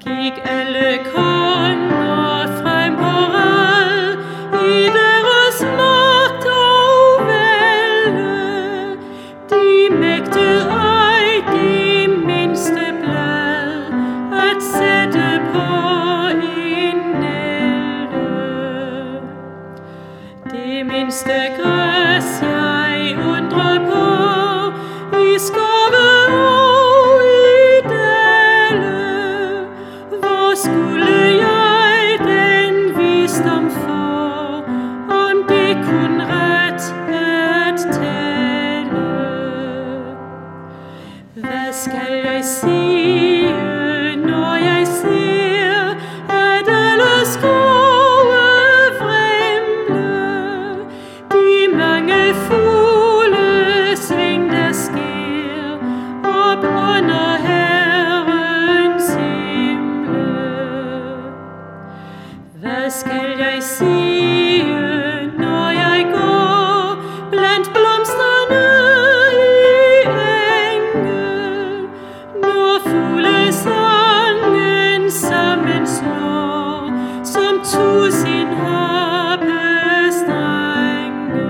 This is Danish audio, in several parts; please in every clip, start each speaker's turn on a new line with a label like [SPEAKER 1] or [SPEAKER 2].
[SPEAKER 1] gik alle konger frem på rad i deres magt og vælde. De mægtede ej det mindste blad at sætte på en nælde. Det mindste græs jeg undrer på i skove og i dale. Hvor skulle jeg den visdom få, om det kun ret at tale? Hvad skal jeg sige, når jeg ser, at alle skove vrimle? De mange fuglesving, der sker op under Herrens himle. Hvad skal jeg sige, når jeg går blandt blomsterne i enge, når fuglesangen sammen slår som tusind harpestrenge?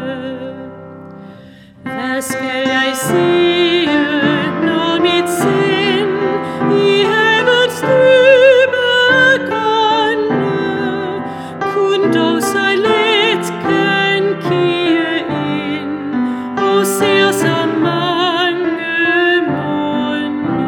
[SPEAKER 1] Hvad skal jeg sige, når mit sind i havets dybe grønne kun dog så let kan kigge ind og ser så mange munde?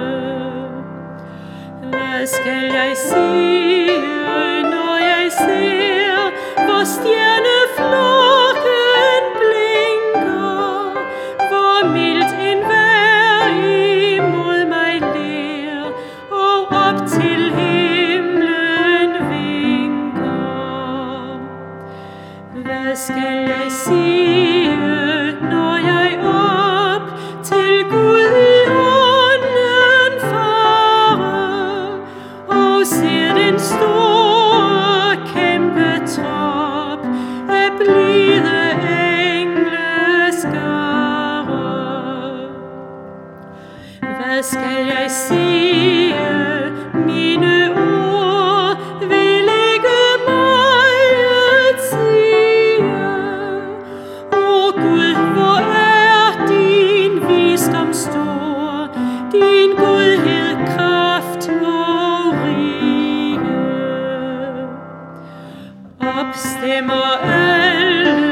[SPEAKER 1] Hvad skal jeg sige, når jeg ser, hvor stjerneflokken blinker, hvor mildt enhver imod mig ler og op til himlen vinker? Hvad skal jeg sige, når jeg op til Gud i ånden farer og ser den store kæmpe trop af blide engleskare? Hvad skal jeg sige, mine ord vil ikke meget sige? O Gud, hvor er din visdom stor, din godhed, kraft og rige. Opstemmer alle